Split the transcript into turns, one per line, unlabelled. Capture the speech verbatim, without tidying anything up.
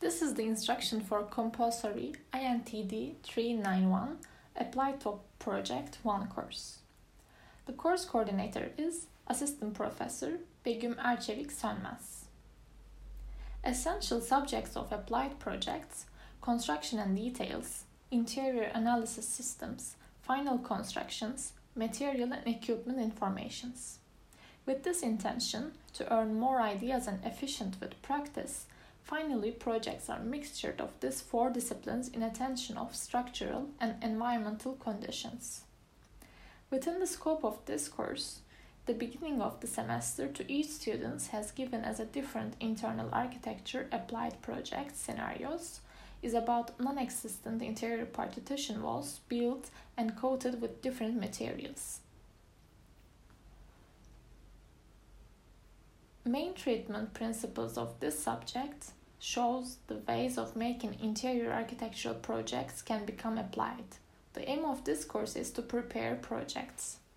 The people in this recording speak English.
This is the instruction for compulsory I N T D three ninety-one Applied to Project one course. The course coordinator is Assistant Professor Begüm Erçevik Sönmez. Essential subjects of applied projects, construction and details, interior analysis systems, final constructions, material and equipment informations. With this intention to earn more ideas and efficient with practice, finally projects are mixture of these four disciplines in attention of structural and environmental conditions. Within the scope of this course, the beginning of the semester to each student has given as a different internal architecture applied project scenarios is about non-existent interior partition walls built and coated with different materials. Main treatment principles of this subject shows the ways of making interior architectural projects can become applied. The aim of this course is to prepare projects